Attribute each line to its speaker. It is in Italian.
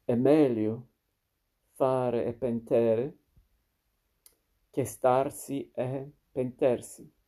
Speaker 1: È meglio fare e pentere che starsi e pentersi.